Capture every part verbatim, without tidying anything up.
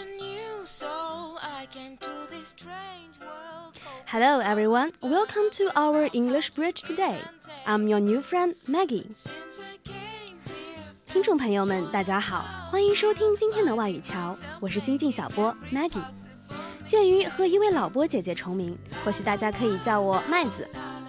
Hello everyone, welcome to our English Bridge today. I'm your new friend Maggie. 听众朋友们，大家好，欢迎收听今天的外语桥，我是新晋小波 Maggie。鉴于和一位老波姐姐重名，或许大家可以叫我麦子。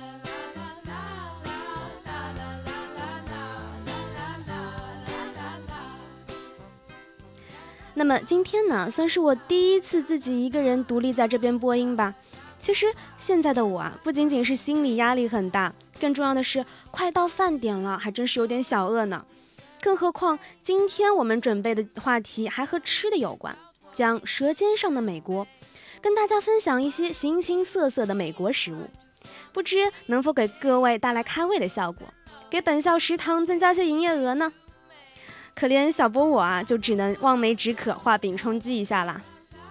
那么今天呢，算是我第一次自己一个人独立在这边播音吧。其实现在的我啊，不仅仅是心理压力很大，更重要的是快到饭点了，还真是有点小饿呢。更何况今天我们准备的话题还和吃的有关，讲舌尖上的美国，跟大家分享一些形形色色的美国食物，不知能否给各位带来开胃的效果，给本校食堂增加些营业额呢？可怜小波我啊，就只能望梅止渴，画饼充饥一下啦。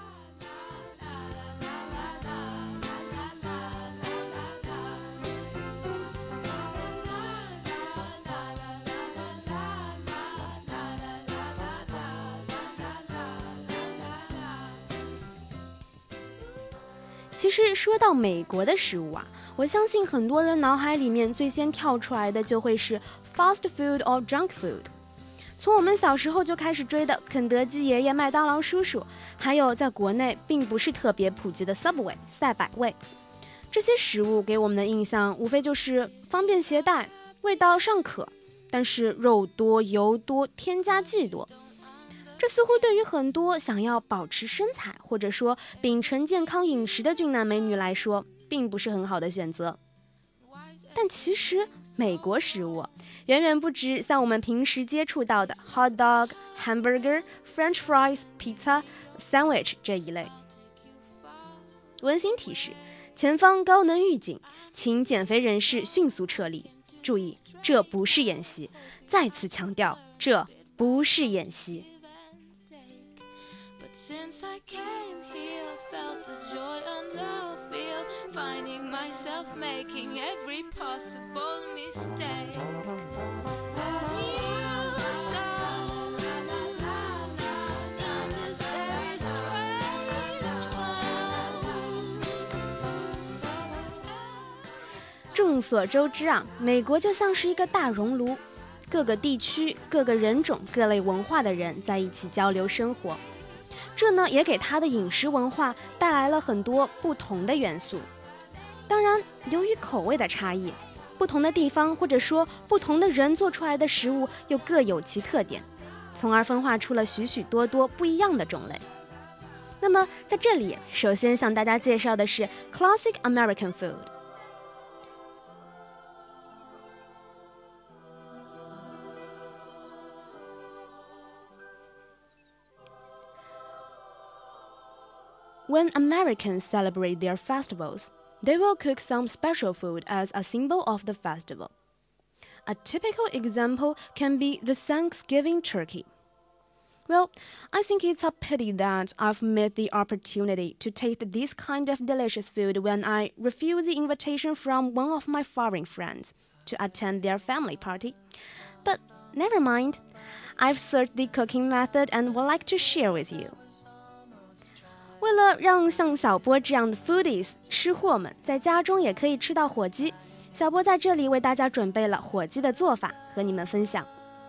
其实说到美国的食物啊，我相信很多人脑海里面最先跳出来的就会是 fast food or junk food。从我们小时候就开始追的肯德基爷爷、麦当劳叔叔，还有在国内并不是特别普及的 Subway 赛百味，这些食物给我们的印象无非就是方便携带，味道尚可，但是肉多油多，添加剂多。这似乎对于很多想要保持身材或者说秉承健康饮食的俊男美女来说，并不是很好的选择。但其实美国食物远远不止像我们平时接触到的 hot dog、hamburger、french fries、pizza、sandwich 这一类。温馨提示：前方高能预警，请减肥人士迅速撤离。注意，这不是演习，再次强调，这不是演习。Since I came here, felt the joy and the fear, finding myself making every possible mistake. But you saw in this very strange world. 众所周知啊，美国就像是一个大熔炉，各个地区、各个人种、各类文化的人在一起交流生活。这呢，也给他的饮食文化带来了很多不同的元素。当然，由于口味的差异，不同的地方或者说不同的人做出来的食物又各有其特点，从而分化出了许许多多不一样的种类。那么在这里，首先向大家介绍的是 Classic American Food。When Americans celebrate their festivals, they will cook some special food as a symbol of the festival. A typical example can be the Thanksgiving turkey. Well, I think it's a pity that I've missed the opportunity to taste this kind of delicious food when I refused the invitation from one of my foreign friends to attend their family party. But never mind, I've searched the cooking method and would like to share with you.为了让像小波这样的 foodies 吃货们在家中也可以吃到火鸡，小波在这里为大家准备了火鸡的做法和你们分享。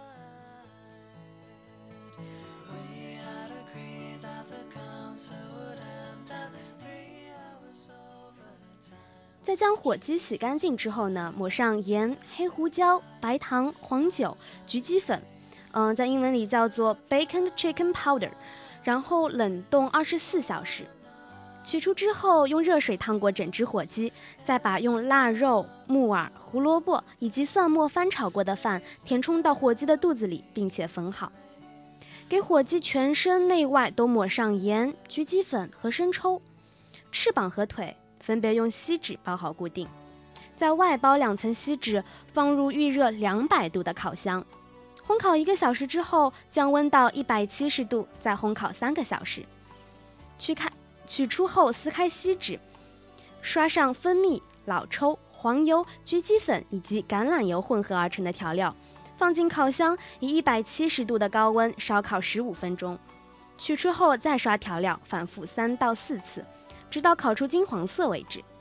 在将火鸡洗干净之后呢，抹上盐、黑胡椒、白糖、黄酒、菊鸡粉，嗯、呃，在英文里叫做 bacon chicken powder。然后冷冻二十四小时，取出之后用热水烫过整只火鸡，再把用腊肉、木耳、胡萝卜以及蒜末翻炒过的饭填充到火鸡的肚子里，并且缝好。给火鸡全身内外都抹上盐、菊鸡粉和生抽，翅膀和腿分别用锡纸包好固定，在外包两层锡纸，放入预热两百度的烤箱。烘烤一个小时之后，降温到一百七十度，再烘烤三个小时。取开取出后撕开锡纸，刷上蜂蜜、老抽、黄油、菊鸡粉以及橄榄油混合而成的调料，放进烤箱，以一百七十度的高温烧烤十五分钟。 取出后再刷调料，反复三到四次，直到烤出金黄色为止。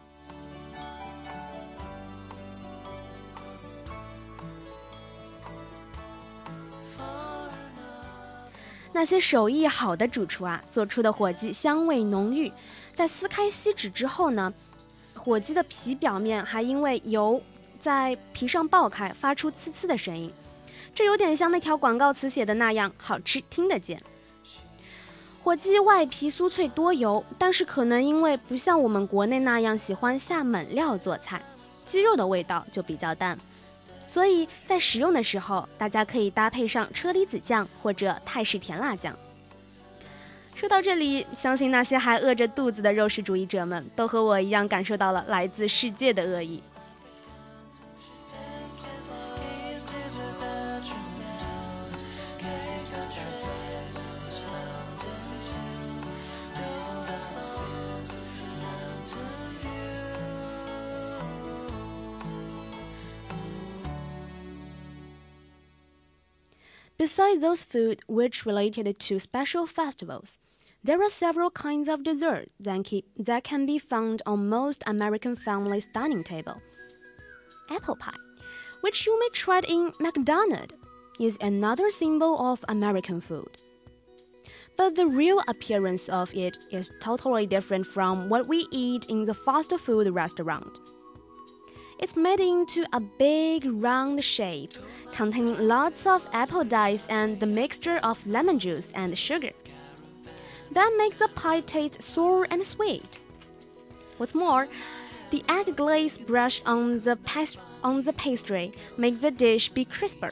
那些手艺好的主厨啊，做出的火鸡香味浓郁，在撕开锡纸之后呢，火鸡的皮表面还因为油在皮上爆开，发出呲呲的声音，这有点像那条广告词写的那样，好吃听得见。火鸡外皮酥脆多油，但是可能因为不像我们国内那样喜欢下猛料做菜，鸡肉的味道就比较淡，所以在食用的时候，大家可以搭配上车厘子酱或者泰式甜辣酱。说到这里，相信那些还饿着肚子的肉食主义者们都和我一样感受到了来自世界的恶意。Besides those food which related to special festivals, there are several kinds of dessert that, keep, that can be found on most American families' dining table. Apple pie, which you may try in McDonald's, is another symbol of American food. But the real appearance of it is totally different from what we eat in the fast food restaurant. It's made into a big round shape, containing lots of apple dice and the mixture of lemon juice and sugar. That makes the pie taste sour and sweet. What's more, the egg glaze brush on the, pas- on the pastry makes the dish be crisper.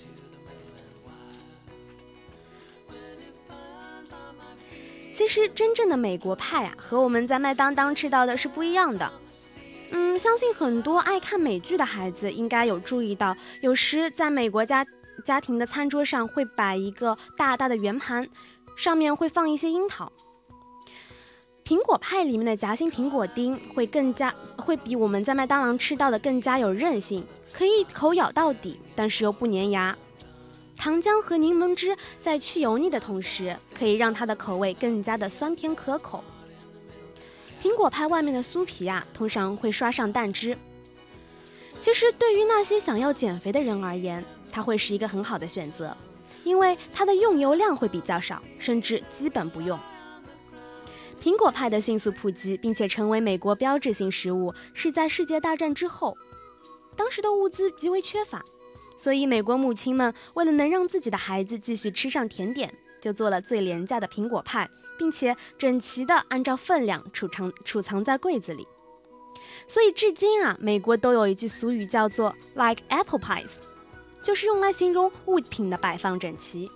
其实真正的美国派啊，和我们在麦当当吃到的是不一样的。嗯，相信很多爱看美剧的孩子应该有注意到，有时在美国家家庭的餐桌上会摆一个大大的圆盘，上面会放一些樱桃。苹果派里面的夹心苹果丁会更加会比我们在麦当劳吃到的更加有韧性，可以一口咬到底，但是又不粘牙。糖浆和柠檬汁在去油腻的同时，可以让它的口味更加的酸甜可口。苹果派外面的酥皮啊，通常会刷上蛋汁。其实对于那些想要减肥的人而言，它会是一个很好的选择，因为它的用油量会比较少，甚至基本不用。苹果派的迅速普及并且成为美国标志性食物，是在世界大战之后，当时的物资极为缺乏，所以美国母亲们为了能让自己的孩子继续吃上甜点，就做了最廉价的苹果派，并且整齐地按照分量储藏储藏在柜子里。所以至今啊，美国都有一句俗语叫做 like apple pies， 就是用来形容物品的摆放整齐。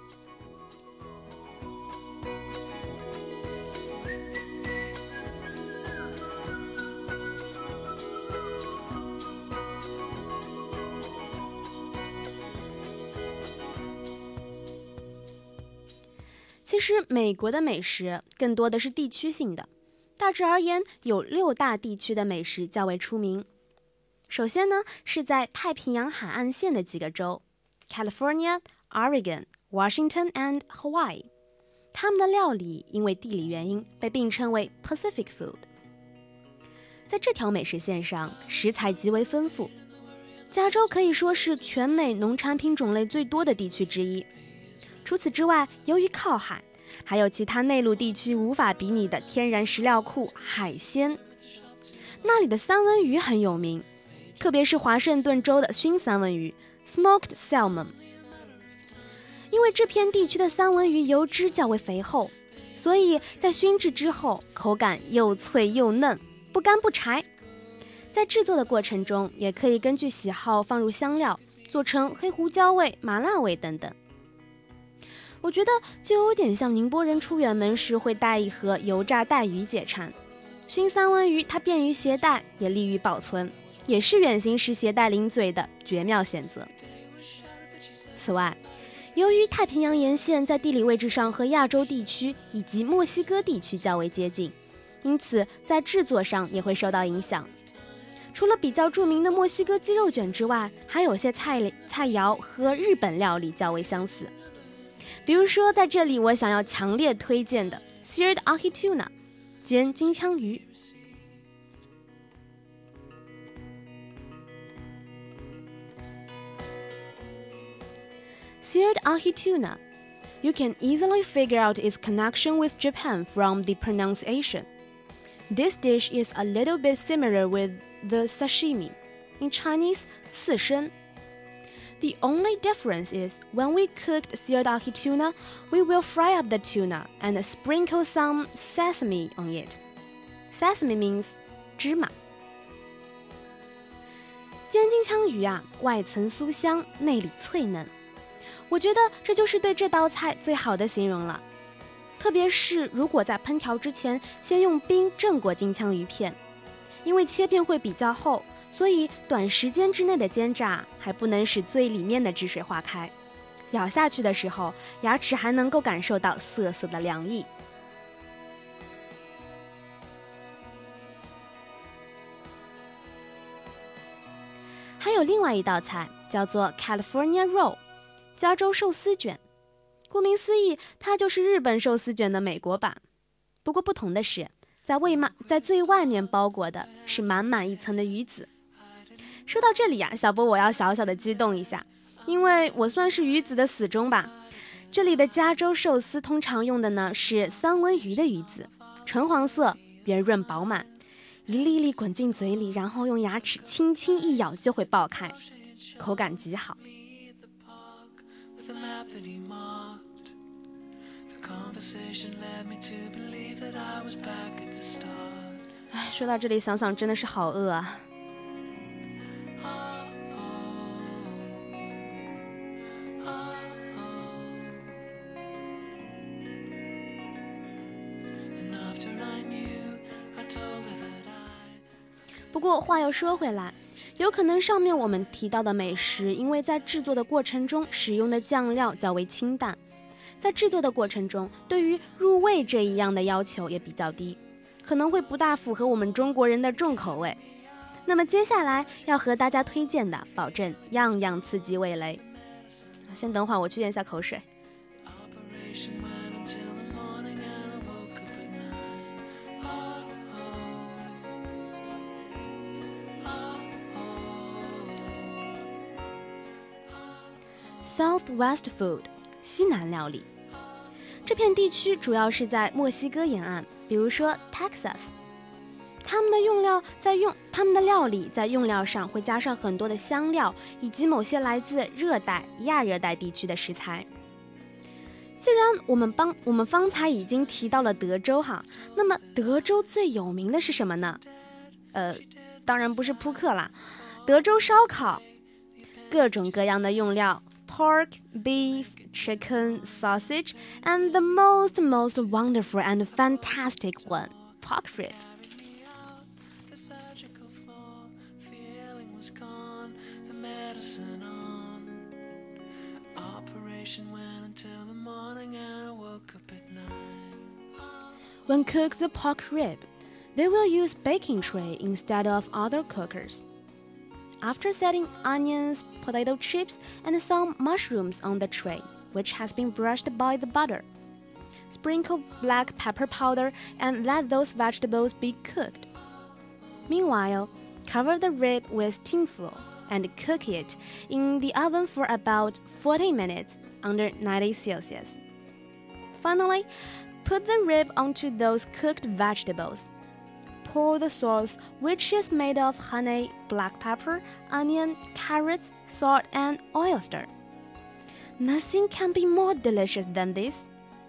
其实美国的美食更多的是地区性的，大致而言有六大地区的美食较为出名。首先呢，是在太平洋海岸线的几个州 California、Oregon、Washington and Hawaii， 他们的料理因为地理原因被并称为 Pacific Food。 在这条美食线上，食材极为丰富，加州可以说是全美农产品种类最多的地区之一。除此之外，由于靠海，还有其他内陆地区无法比拟的天然食料库海鲜。那里的三文鱼很有名，特别是华盛顿州的熏三文鱼 Smoked Salmon。 因为这片地区的三文鱼油脂较为肥厚，所以在熏制之后口感又脆又嫩，不干不柴。在制作的过程中，也可以根据喜好放入香料，做成黑胡椒味、麻辣味等等。我觉得就有点像宁波人出远门时会带一盒油炸带鱼解馋。熏三文鱼它便于携带，也利于保存，也是远行时携带零嘴的绝妙选择。此外，由于太平洋沿线在地理位置上和亚洲地区以及墨西哥地区较为接近，因此在制作上也会受到影响。除了比较著名的墨西哥鸡肉卷之外，还有些菜菜肴和日本料理较为相似。 比如说在这里我想要强烈推荐的 Seared Ahi Tuna 煎金枪鱼。Seared ahi tuna. You can easily figure out its connection with Japan from the pronunciation. This dish is a little bit similar with the sashimi, in Chinese, 刺身. The only difference is when we cooked seared ahi tuna, we will fry up the tuna and sprinkle some sesame on it. Sesame means 芝麻。煎金枪鱼啊，外层酥香，内里脆嫩。我觉得这就是对这道菜最好的形容了，特别是如果在烹调之前先用冰镇过金枪鱼片，因为切片会比较厚，所以短时间之内的煎炸还不能使最里面的汁水化开，咬下去的时候牙齿还能够感受到涩涩的凉意。还有另外一道菜叫做 California Roll，加州寿司卷，顾名思义，它就是日本寿司卷的美国版。不过不同的是，在外面，在最外面包裹的是满满一层的鱼子。说到这里呀、啊，小波我要小小的激动一下，因为我算是鱼子的死忠吧。这里的加州寿司通常用的呢是三文鱼的鱼子，橙黄色，圆润饱满，一粒粒滚进嘴里，然后用牙齿轻轻一咬就会爆开，口感极好。The map that he marked. The conversation led me to believe that I was back at the start. 哎，说到这里想想真的是好饿啊。不过话又说回来，有可能上面我们提到的美食，因为在制作的过程中使用的酱料较为清淡，在制作的过程中对于入味这一样的要求也比较低，可能会不大符合我们中国人的重口味。那么接下来要和大家推荐的，保证样样刺激味蕾。先等会儿，我去咽下口水。Southwest Food 西南料理，这片地区主要是在墨西哥沿岸，比如说 Texas， 他们的用料在用他们的料理在用料上会加上很多的香料，以及某些来自热带、亚热带地区的食材。既然我们帮我们方才已经提到了德州哈，那么德州最有名的是什么呢？呃，当然不是扑克啦，德州烧烤，各种各样的用料。Pork, beef, chicken, sausage, and the most, most wonderful and fantastic one, pork rib. The surgical floor, feeling was gone, the medicine on. Operation went until the morning and I woke up at nine. When cook the pork rib, they will use baking tray instead of other cookers.After setting onions, potato chips, and some mushrooms on the tray, which has been brushed by the butter, sprinkle black pepper powder and let those vegetables be cooked. Meanwhile, cover the rib with tinfoil and cook it in the oven for about forty minutes under ninety Celsius. Finally, put the rib onto those cooked vegetables.Pour the sauce, which is made of honey, black pepper, onion, carrots, salt, and oyster. Nothing can be more delicious than this.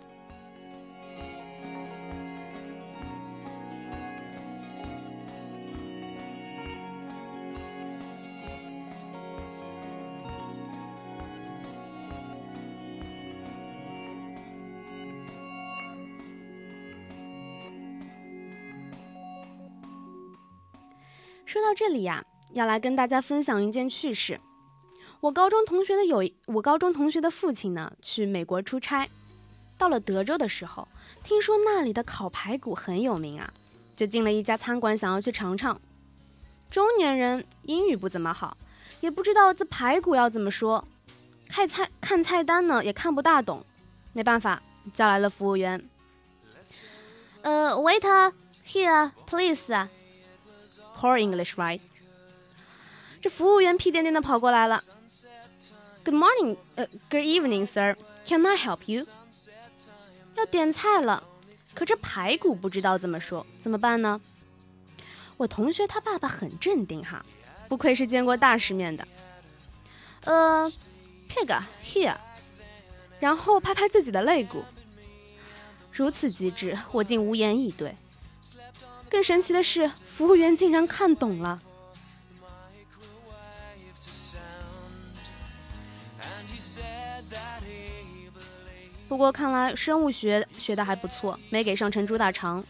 说到这里呀，要来跟大家分享一件趣事。我高中同学的有我高中同学的父亲呢，去美国出差，到了德州的时候，听说那里的烤排骨很有名啊，就进了一家餐馆想要去尝尝。中年人英语不怎么好，也不知道这排骨要怎么说，看菜看菜单呢也看不大懂， 没办法，叫来了服务员。呃 waiter here please poor English right。 这服务员屁颠颠的跑过来了。 Good morning、uh, Good evening sir, can I help you？ 要点菜了，可这排骨不知道怎么说，怎么办呢？我同学他爸爸很镇定哈，不愧是见过大世面的。呃 pig here， 然后拍拍自己的肋骨。如此机智，我竟无言以对。更神奇的是，服务员竟然看懂了。不过看来生物学学得还不错，没给上成猪大肠。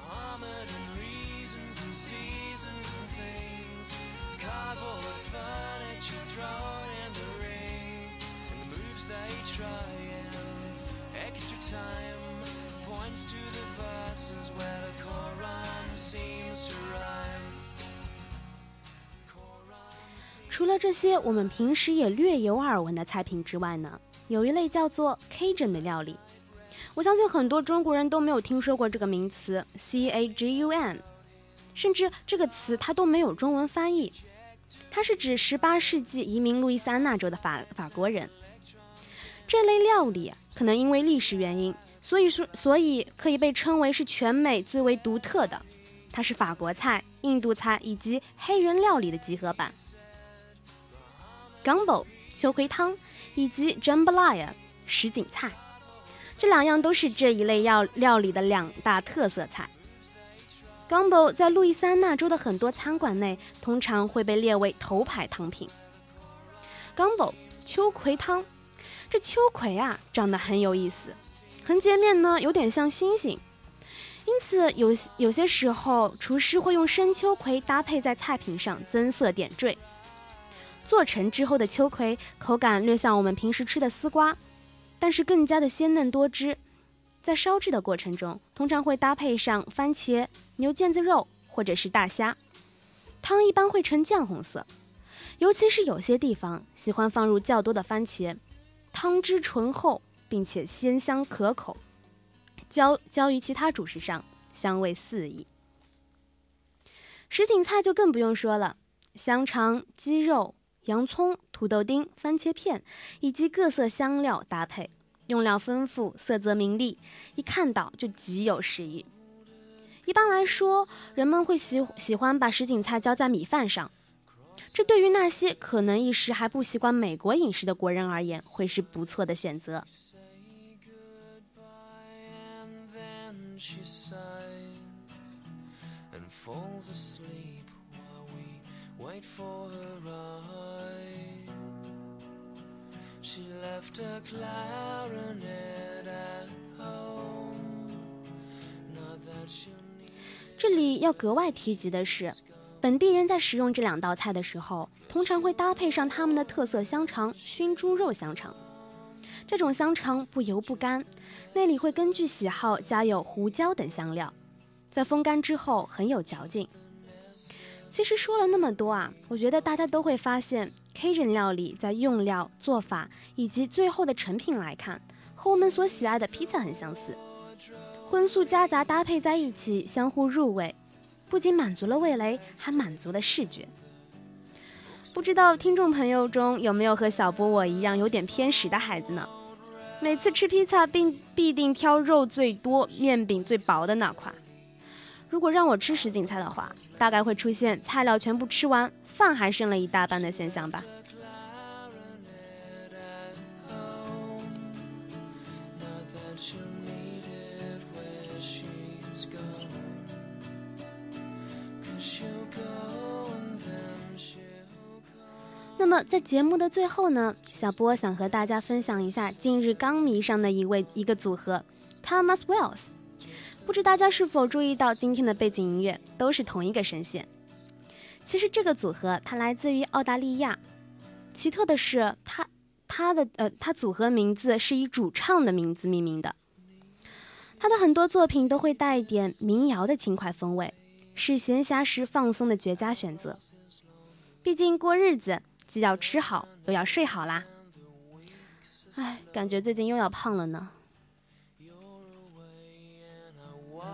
除了这些我们平时也略有耳闻的菜品之外呢，有一类叫做 Cajun 的料理。我相信很多中国人都没有听说过这个名词 C A G U N， 甚至这个词它都没有中文翻译。它是指十八世纪移民路易斯安那州的法法国人。这类料理可能因为历史原因，所以说所以可以被称为是全美最为独特的。它是法国菜、印度菜以及黑人料理的集合版。Gumbo 秋葵汤以及 Jambalaya 什锦菜，这两样都是这一类料料理的两大特色菜。Gumbo 在路易斯安那州的很多餐馆内通常会被列为头牌汤品。Gumbo 秋葵汤，这秋葵啊长得很有意思，横截面呢有点像星星，因此有有些时候厨师会用生秋葵搭配在菜品上增色点缀。做成之后的秋葵口感略像我们平时吃的丝瓜，但是更加的鲜嫩多汁。在烧制的过程中，通常会搭配上番茄、牛腱子肉或者是大虾。汤一般会呈酱红色，尤其是有些地方喜欢放入较多的番茄，汤汁醇厚并且鲜香可口，浇浇于其他主食上，香味四溢。什锦菜就更不用说了，香肠、鸡肉、洋葱、土豆丁、番茄片以及各色香料搭配，用料丰富，色泽明丽，一看到就极有食欲。一般来说，人们会喜喜欢把什锦菜浇在米饭上，这对于那些可能一时还不习惯美国饮食的国人而言，会是不错的选择。Wait for her ride. She left her clarinet at home. Not that she'll need. 这里要格外提及的是，本地人在食用这两道菜的时候，通常会搭配上他们的特色香肠——熏猪肉香肠。这种香肠不油不干，内里会根据喜好加有胡椒等香料，在风干之后很有嚼劲。其实说了那么多啊，我觉得大家都会发现 Cajun 料理在用料、做法以及最后的成品来看，和我们所喜爱的披萨很相似。荤素夹杂搭配在一起，相互入味，不仅满足了味蕾，还满足了视觉。不知道听众朋友中有没有和小波我一样有点偏食的孩子呢？每次吃披萨必必定挑肉最多、面饼最薄的那块。如果让我吃什锦菜的话，大概会出现菜料全部吃完，饭还剩了一大半的现象吧。那么在节目的最后呢，小波想和大家分享一下近日刚迷上的一位一个组合 Thomas Wells。不知大家是否注意到今天的背景音乐都是同一个声线。其实这个组合它来自于澳大利亚，奇特的是它它的呃它组合名字是以主唱的名字命名的。他的很多作品都会带一点民谣的轻快风味，是闲暇时放松的绝佳选择。毕竟过日子既要吃好又要睡好啦。哎，感觉最近又要胖了呢。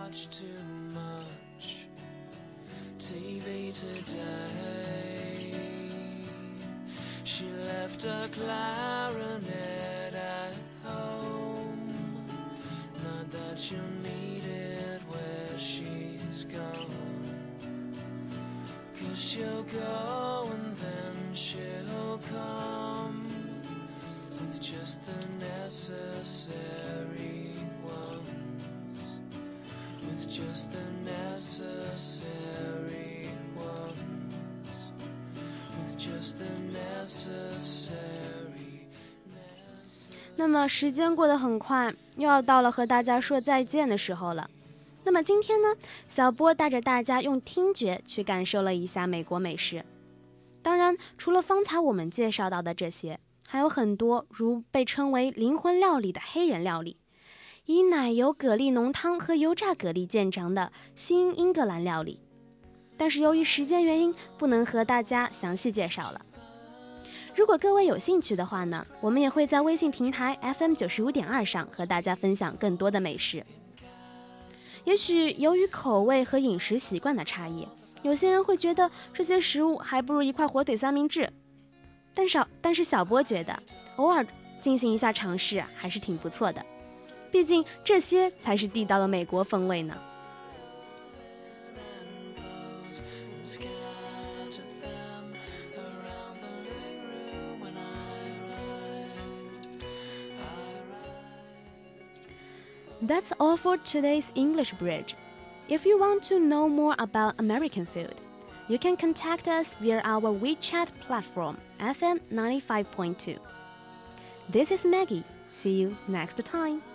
watch too much T V today. She left her clarinet at home. Not that she'll need it where she's gone. Cause she'll go and then she'll come with just the necessary ones. With just the necessary ones. With just the necessary. 那么时间过得很快，又要到了和大家说再见的时候了。那么今天呢，小波带着大家用听觉去感受了一下美国美食。当然，除了方才我们介绍到的这些，还有很多如被称为灵魂料理的黑人料理，以奶油蛤蜊浓汤和油炸蛤蜊见长的新英格兰料理。但是由于时间原因，不能和大家详细介绍了。如果各位有兴趣的话呢，我们也会在微信平台 F M 九十五点二 上和大家分享更多的美食。也许由于口味和饮食习惯的差异，有些人会觉得这些食物还不如一块火腿三明治。但是但是小波觉得偶尔进行一下尝试还是挺不错的，毕竟这些才是地道的美国风味呢。That's all for today's English Bridge. If you want to know more about American food, you can contact us via our WeChat platform, F M ninety-five point two. This is Maggie. See you next time.